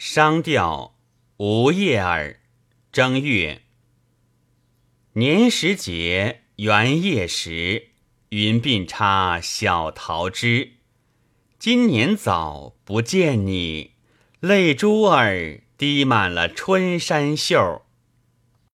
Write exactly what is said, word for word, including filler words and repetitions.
商调无叶儿，正月，年时节，元夜时，云鬓插小桃枝。今年早不见你，泪珠儿滴满了春衫袖。